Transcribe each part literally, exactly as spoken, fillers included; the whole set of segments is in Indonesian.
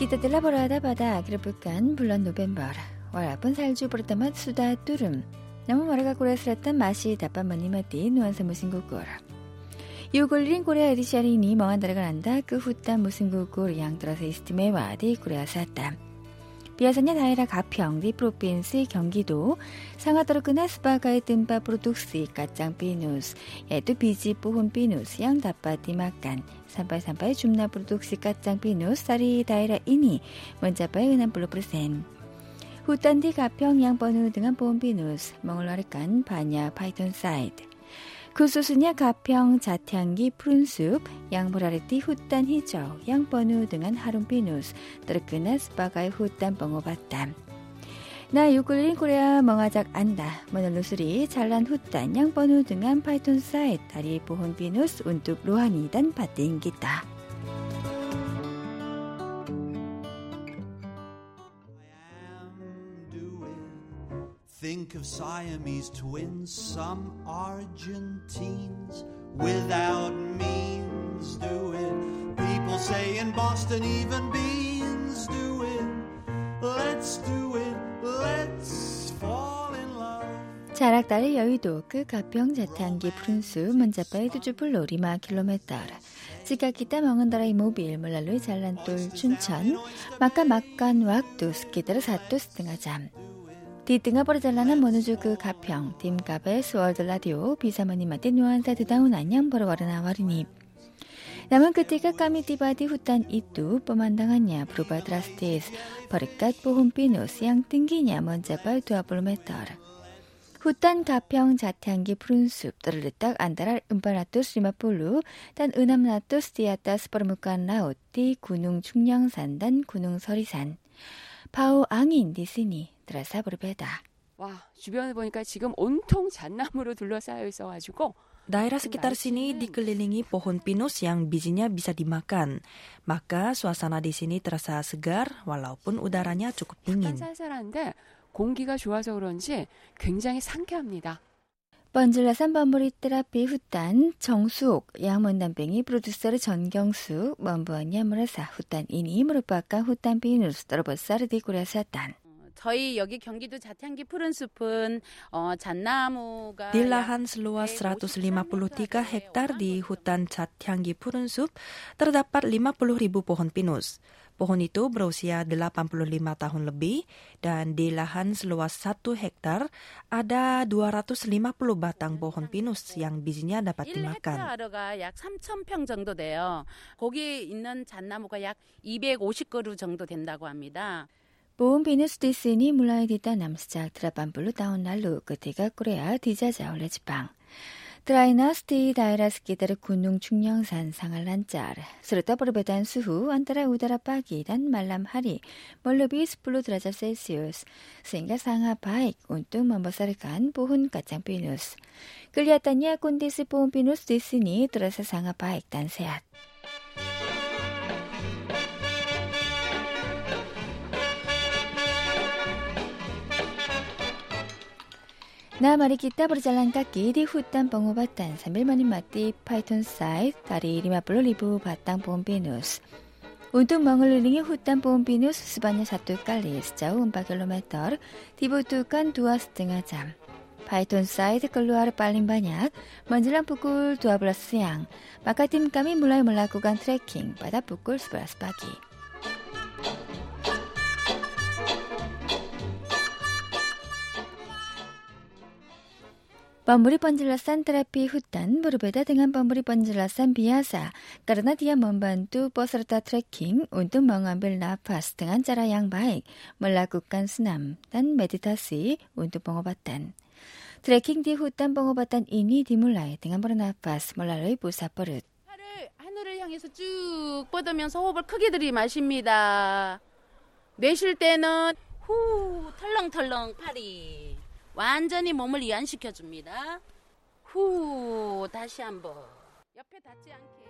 Kita telah berada pada akhir pekan bulan November. Walaupun salju pertama sudah turun, namun mereka Korea Selatan masih dapat menikmati nuansa musim gugur. Yugul린 Korea edisi ini mengandalkan Anda ke hutan musim gugur yang terasa istimewa di Korea Selatan. Biasanya daerah Gapyeong di provinsi Gyeonggi-do sangat terkenal sebagai tempat produksi kacang pinus, yaitu biji pohon pinus yang dapat dimakan. Sampai-sampai jumlah produksi kacang pinus dari daerah ini mencapai enam puluh persen. Hutan di Gapyeong yang penuh dengan pohon pinus mengeluarkan banyak phytoncide. Khususnya Gapyeong Jathyanggi 푸른숲 yang berada di hutan hijau yang penuh dengan harum pinus terkenal sebagai hutan pengobatan. Nah, Yugul린 Korea mengajak Anda menelusuri jalan hutan yang penuh dengan phytoncide dari pohon pinus untuk rohani dan batin kita. Think of Siamese twins, some Argentines without means do it. People say in Boston even beans do it. Let's do it, let's fall in love. 자락 dari 여의도 ke Gapyeong Jathyanggi 푸른숲 mencapai tujuh puluh lima kilometer. Jika kita mengendarai mobil melalui jalan tol Chuncheon, maka makan waktu sekitar satu setengah jam. Di tengah perjalanan menuju ke Gapyeong, tim K B S World Radio bisa menikmati nuansa dedaunan yang berwarna-warni. Namun ketika kami tiba di hutan itu, pemandangannya berubah drastis berkat pohon pinus yang tingginya mencapai dua puluh meter. Hutan Gapyeong Jathyanggi 푸른숲 terletak antara empat ratus lima puluh dan enam ratus di atas permukaan laut di Gunung Chungnyeongsan dan Gunung Sorisan. 바오 angin di sini terasa berbeda. 와, 주변을 보니까 지금 온통 잣나무로 둘러싸여 있어가지고 daerah sekitar sini dikelilingi pohon pinus yang bijinya bisa dimakan. Maka suasana di sini terasa segar walaupun udaranya cukup dingin. 쌀쌀한데 공기가 좋아서 그런지 굉장히 상쾌합니다. 번질나산 범부리 테라피 hutan 정수옥 양문단뱅이 프로듀서 전경수 membuatnya merasa hutan ini merupakan hutan pinus terbesar di Korea Selatan. 저희 여기 경기도 자태향기 푸른숲은 어, 잣나무가 Di lahan seluas seratus lima puluh tiga hektar di hutan Jathyanggi 푸른숲 terdapat lima puluh ribu pohon pinus. Pohon itu berusia delapan puluh lima tahun lebih dan di lahan seluas satu hektar ada dua ratus lima puluh batang pohon pinus yang bijinya dapat dimakan. 일 헥타르가 약 삼천 평 정도 돼요. 거기 있는 잣나무가 약 이백오십 그루 정도 된다고 합니다. Pohon pinus di sini mulai ditanam sejak delapan puluh tahun lalu ketika Korea dijajah oleh Jepang. Trainas di daerah sekitar Gunung Chungnyeongsan sangat lancar, serta perbedaan suhu antara udara pagi dan malam hari melebihi sepuluh derajat Celcius, sehingga sangat baik untuk membesarkan pohon kacang pinus. Kelihatannya kondisi pohon pinus di sini terasa sangat baik dan sehat. Nah, mari kita berjalan kaki di hutan pengobatan sambil menikmati phytoncide dari lima puluh ribu batang pohon pinus. Untuk mengelilingi hutan pohon pinus sebanyak satu kali sejauh empat kilometer dibutuhkan dua setengah jam. Phytoncide keluar paling banyak menjelang pukul dua belas siang, maka tim kami mulai melakukan trekking pada pukul sebelas pagi. Pemberi penjelasan terapi hutan berbeda dengan pemberi penjelasan biasa karena dia membantu peserta trekking untuk mengambil nafas dengan cara yang baik, melakukan senam dan meditasi untuk pengobatan. Trekking di hutan pengobatan ini dimulai dengan bernafas melalui pusat perut. 팔을 하늘을 향해서 쭉 뻗으면서 호흡을 크게 들이마십니다. 내쉴 때는 후 털렁털렁 팔이. 완전히 몸을 이완시켜줍니다. 후, 다시 한번. 옆에 닿지 않게.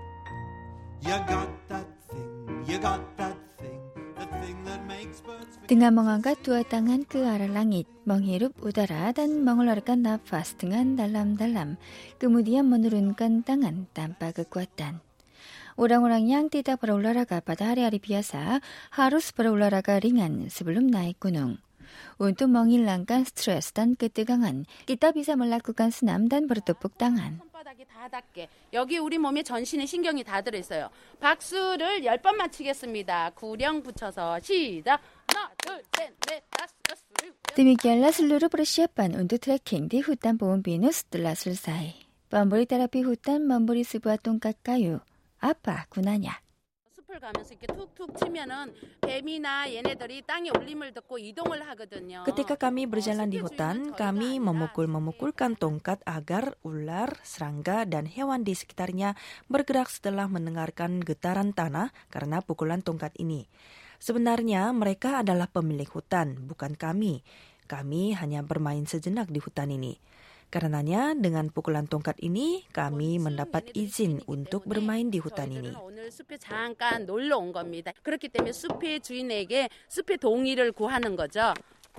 You got that thing, you got that thing, the thing that makes birds Dengan mengangkat dua tangan ke arah langit, menghirup udara dan mengeluarkan nafas dengan dalam-dalam, kemudian menurunkan tangan tanpa kekuatan. Orang-orang yang tidak berolahraga pada hari-hari biasa harus berolahraga ringan sebelum naik gunung. Untuk menghilangkan stres dan ketegangan, kita bisa melakukan senam dan bertepuk tangan. 손바닥이 다 닿게. 여기 우리 몸에 전신에 신경이 다 들어있어요. 박수를 열 번 맞추겠습니다. 구령 붙여서 시작. 하나, 둘, 셋, 넷, 다섯, 여섯, 일곱. Demikianlah seluruh persiapan untuk trekking di hutan pohon pinus telah selesai. Pemberi terapi hutan memberi sebuah tongkat kayu. Apa gunanya? 숲을 가면서 이렇게 툭툭 치면은 뱀이나 얘네들이 땅에 울림을 듣고 이동을 하거든요. Ketika kami berjalan di hutan, kami memukul-memukulkan tongkat agar ular, serangga, dan hewan di sekitarnya bergerak setelah mendengarkan getaran tanah karena pukulan tongkat ini. Sebenarnya mereka adalah pemilik hutan, bukan kami. Kami hanya bermain sejenak di hutan ini. Karenanya dengan pukulan tongkat ini kami mendapat izin untuk bermain di hutan ini. 오늘 숲에 잠깐 놀러 온 겁니다. 그렇기 때문에 숲의 주인에게 숲의 동의를 구하는 거죠.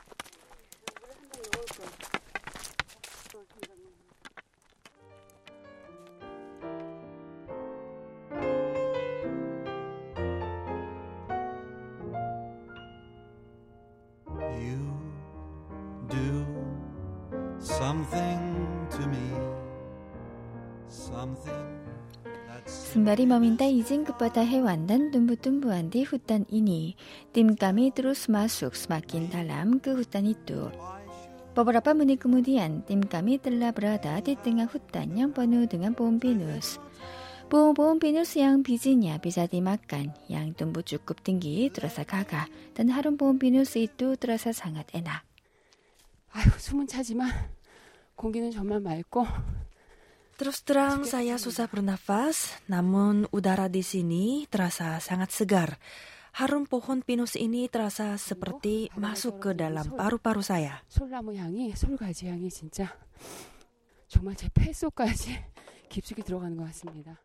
You do something to me, something that's Sembari meminta izin kepada hewan dan tumbuh-tumbuhan di hutan ini, tim kami terus masuk semakin dalam ke hutan itu. Beberapa menit kemudian, tim kami telah berada di tengah hutan yang penuh dengan pohon pinus. Pohon-pohon pinus yang bijinya bisa dimakan, yang tumbuh cukup tinggi terasa gagah, dan harum pohon pinus itu terasa sangat enak. 아유, 숨은 차지만 공기는 정말 맑고 Terus terang saya susah bernafas, namun udara di sini terasa sangat segar. Harum pohon pinus ini terasa seperti masuk ke dalam paru-paru saya. 솔나무 향이, 솔가지 향이 진짜 정말 제 폐 속까지 깊숙이 들어가는 것 같습니다.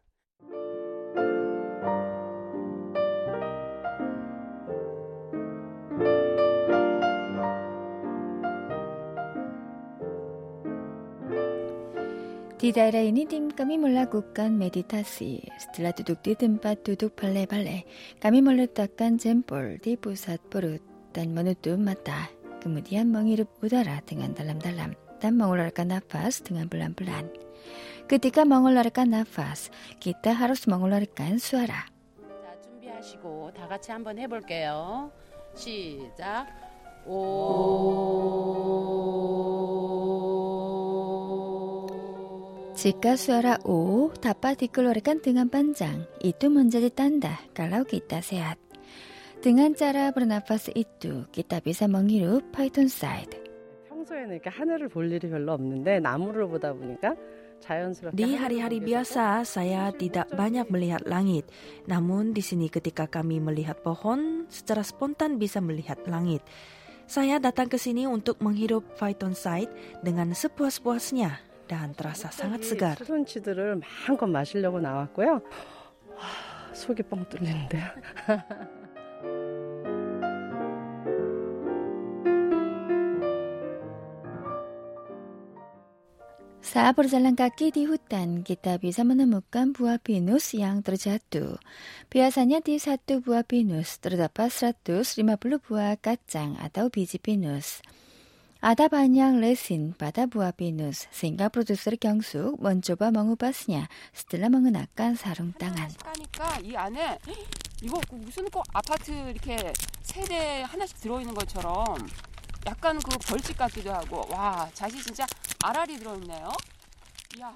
Di daerah ini tim kami melakukan meditasi. Setelah duduk di tempat duduk balai-balai, kami meletakkan jempol di pusat perut dan menutup mata. Kemudian menghirup udara dengan dalam-dalam dan mengeluarkan nafas dengan pelan-pelan. Ketika mengeluarkan nafas, kita harus mengeluarkan suara. 자, 준비하시고 다 같이 한번 해볼게요. 시작. 오. Jika suara O dapat dikeluarkan dengan panjang, itu menjadi tanda kalau kita sehat. Dengan cara bernafas itu, kita bisa menghirup Python side. 평소에는 이렇게 하늘을 볼 일이 별로 없는데 나무를 보다 보니까 자연스럽게 Di hari-hari biasa, saya tidak banyak melihat langit. Namun di sini ketika kami melihat pohon, secara spontan bisa melihat langit. Saya datang ke sini untuk menghirup phytoncide dengan sepuas-puasnya. Dan terasa sangat segar. 수분치들을 마음껏 마시려고 나왔고요. 와, 속이 뻥 뚫리는데요. Saat berjalan kaki di hutan, kita bisa menemukan buah pinus yang terjatuh. Biasanya di satu buah pinus terdapat seratus lima puluh buah kacang atau biji pinus. Ada banyak resin pada buah pinus, sehingga produser 경숙 mencoba mengubasnya setelah mengenakan sarung tangan. 까니까 이 안에 이거 무슨 꼭 아파트 이렇게 세대 하나씩 들어있는 것처럼 약간 그 벌집 같기도 하고 와 잣이 진짜 알알이 들어있네요. 이야.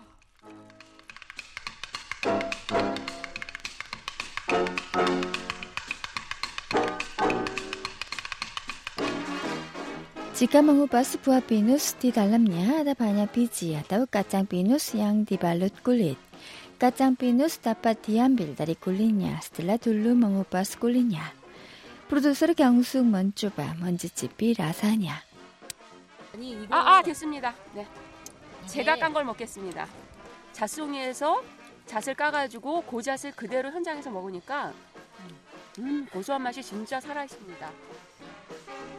Jika mengupas buah pinus, di dalamnya ada banyak biji atau kacang pinus yang dibalut kulit. Kacang pinus dapat diambil dari kulitnya setelah dulu mengupas kulitnya. Produser 경숙 mencoba mencicipi rasanya. 아, 아 됐습니다. 네, 제가 깐 걸 먹겠습니다. 잣송이에서 잣을 까가지고 그 잣을 그대로 현장에서 먹으니까 음, 고소한 맛이 진짜 살아있습니다.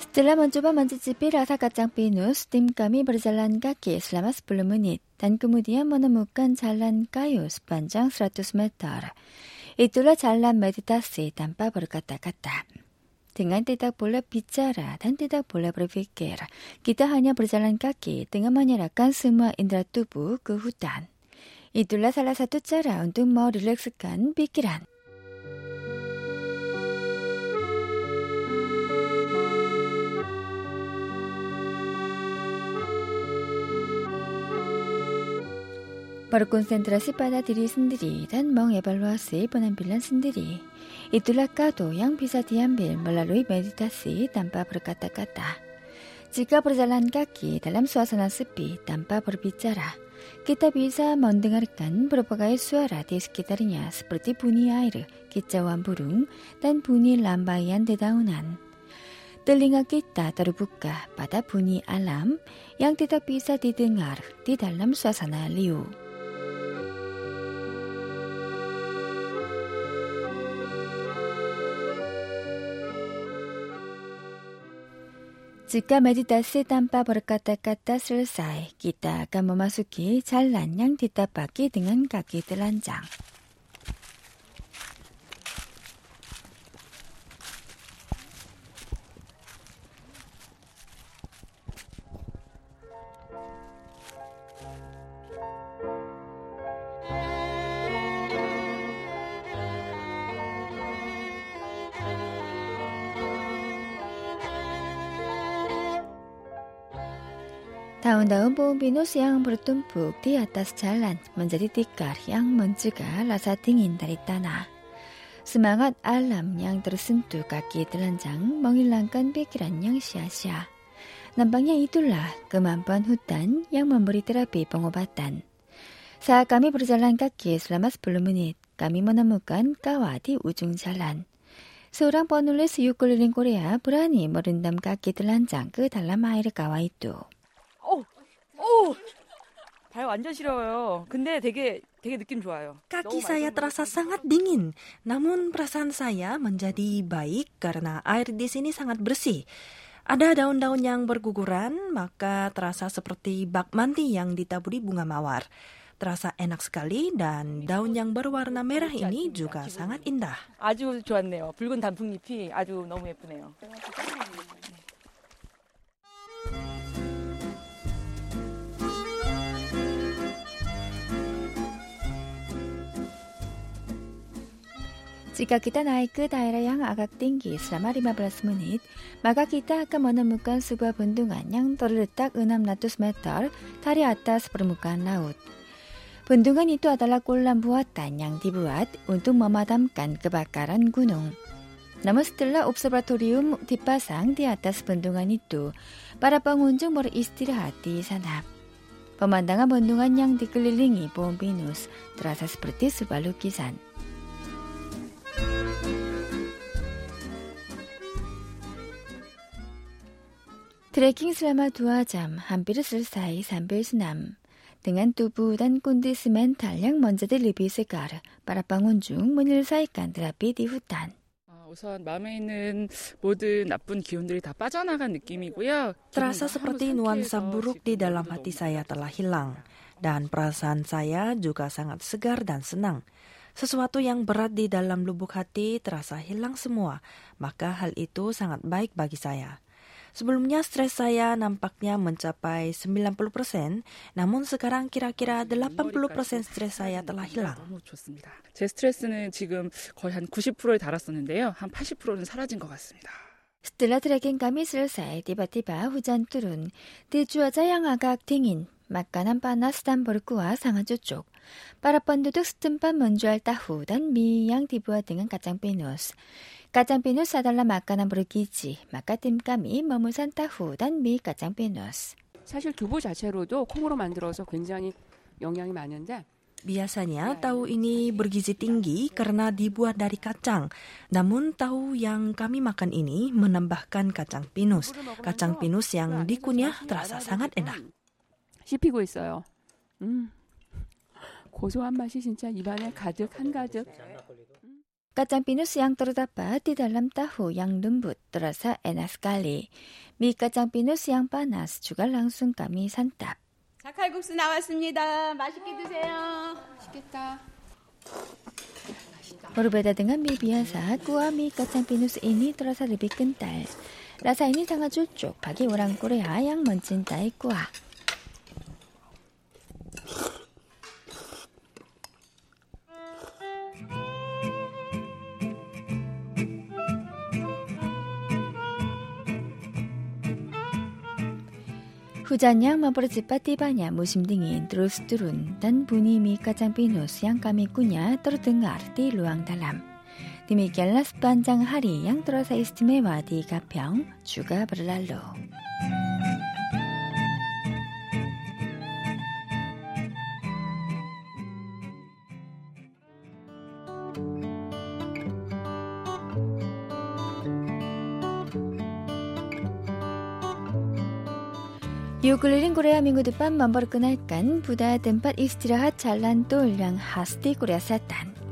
Setelah mencoba mencicipi rasa kacang pinus, tim kami berjalan kaki selama sepuluh menit dan kemudian menemukan jalan kayu sepanjang seratus meter. Itulah jalan meditasi tanpa berkata-kata. Dengan tidak boleh bicara dan tidak boleh berpikir, kita hanya berjalan kaki dengan menyerahkan semua indera tubuh ke hutan. Itulah salah satu cara untuk merilekskan pikiran. Berkonsentrasi pada diri sendiri dan mengevaluasi penampilan sendiri. Itulah kado yang bisa diambil melalui meditasi tanpa berkata-kata. Jika berjalan kaki dalam suasana sepi tanpa berbicara, kita bisa mendengarkan berbagai suara di sekitarnya seperti bunyi air, kicauan burung, dan bunyi lambaian dedaunan. Telinga kita terbuka pada bunyi alam yang tidak bisa didengar di dalam suasana liu. Jika meditasi tanpa berkata-kata selesai, kita akan memasuki jalan yang ditapaki dengan kaki telanjang. Daun-daun pohon pinus yang bertumpuk di atas jalan menjadi tikar yang mencegah rasa dingin dari tanah. Semangat alam yang tersentuh kaki telanjang menghilangkan pikiran yang sia-sia. Nampaknya itulah kemampuan hutan yang memberi terapi pengobatan. Saat kami berjalan kaki selama sepuluh menit, kami menemukan kawah di ujung jalan. Seorang penulis ukulele Korea berani merendam kaki telanjang ke dalam air kawah itu. 오, 발 완전 시려워요. 근데 되게 되게 느낌 좋아요. Kaki saya terasa sangat dingin, namun perasaan saya menjadi baik karena air di sini sangat bersih. Ada daun-daun yang berguguran, maka terasa seperti bak mandi yang ditaburi bunga mawar. Terasa enak sekali dan daun yang berwarna merah ini juga sangat indah. 아주 좋았네요. 붉은 단풍잎이 아주 너무 예쁘네요. Jika kita naik ke daerah yang agak tinggi selama lima belas menit, maka kita akan menemukan sebuah bendungan yang terletak enam ratus meter dari atas permukaan laut. Bendungan itu adalah kolam buatan yang dibuat untuk memadamkan kebakaran gunung. Namun setelah observatorium dipasang di atas bendungan itu, para pengunjung beristirahat di sana. Pemandangan bendungan yang dikelilingi pohon pinus terasa seperti sebuah lukisan. Trekking selama dua jam, hampir selesai sambil senam. Dengan tubuh dan kondisi mental yang menjadi lebih segar, para pengunjung menyelesaikan terapi di hutan. 우선 마음에 있는 모든 나쁜 기운들이 다 빠져나간 느낌이고요. Terasa seperti nuansa buruk di dalam hati saya telah hilang. Dan perasaan saya juga sangat segar dan senang. Sesuatu yang berat di dalam lubuk hati terasa hilang semua, maka hal itu sangat baik bagi saya. Sebelumnya stres saya nampaknya mencapai sembilan puluh persen, namun sekarang kira-kira delapan puluh persen stres saya telah hilang. 너무 좋습니다. 제 스트레스는 지금 거의 한 구십 퍼센트에 달았었는데요. 한 팔십 퍼센트는 사라진 것 같습니다. Setelah trekking kami selesai, tiba-tiba hujan turun. Di cuaca yang agak dingin, makanan panas dan berkuah sangat cocok. Para penduduk setempat menjual tahu dan mie yang dibuat dengan kacang pinus. Kacang pinus adalah makanan bergizi, maka tim kami memesan tahu dan mie kacang pinus. 사실 두부 자체로도 콩으로 만들어서 굉장히 영양이 많은데 Biasanya tahu ini bergizi tinggi karena dibuat dari kacang. Namun tahu yang kami makan ini menambahkan kacang pinus. Kacang pinus yang dikunyah terasa sangat enak. 씹히고 있어요. 음, 고소한 맛이 진짜 입안에 가득 한가득. kacang pinus yang terdapat di dalam tahu yang lembut terasa enak sekali. Mie kacang pinus yang panas juga langsung kami santap. 자칼국수 나왔습니다. 맛있게 드세요. 맛있겠다. Berbeda dengan mie biasa, kuah mie kacang pinus ini terasa lebih kental. Rasa ini sangat cocok bagi orang Korea yang mencintai kuah. Hujan yang mempercepat tibanya musim dingin terus turun dan bunyi mie kacang pinus yang kami kunyah terdengar di ruang dalam. Demikianlah sepanjang hari yang terasa istimewa di Gapyeong juga berlalu. Yuk keliling Korea minggu depan memperkenalkan budaya tempat istirahat jalan tol yang khas di Korea Selatan.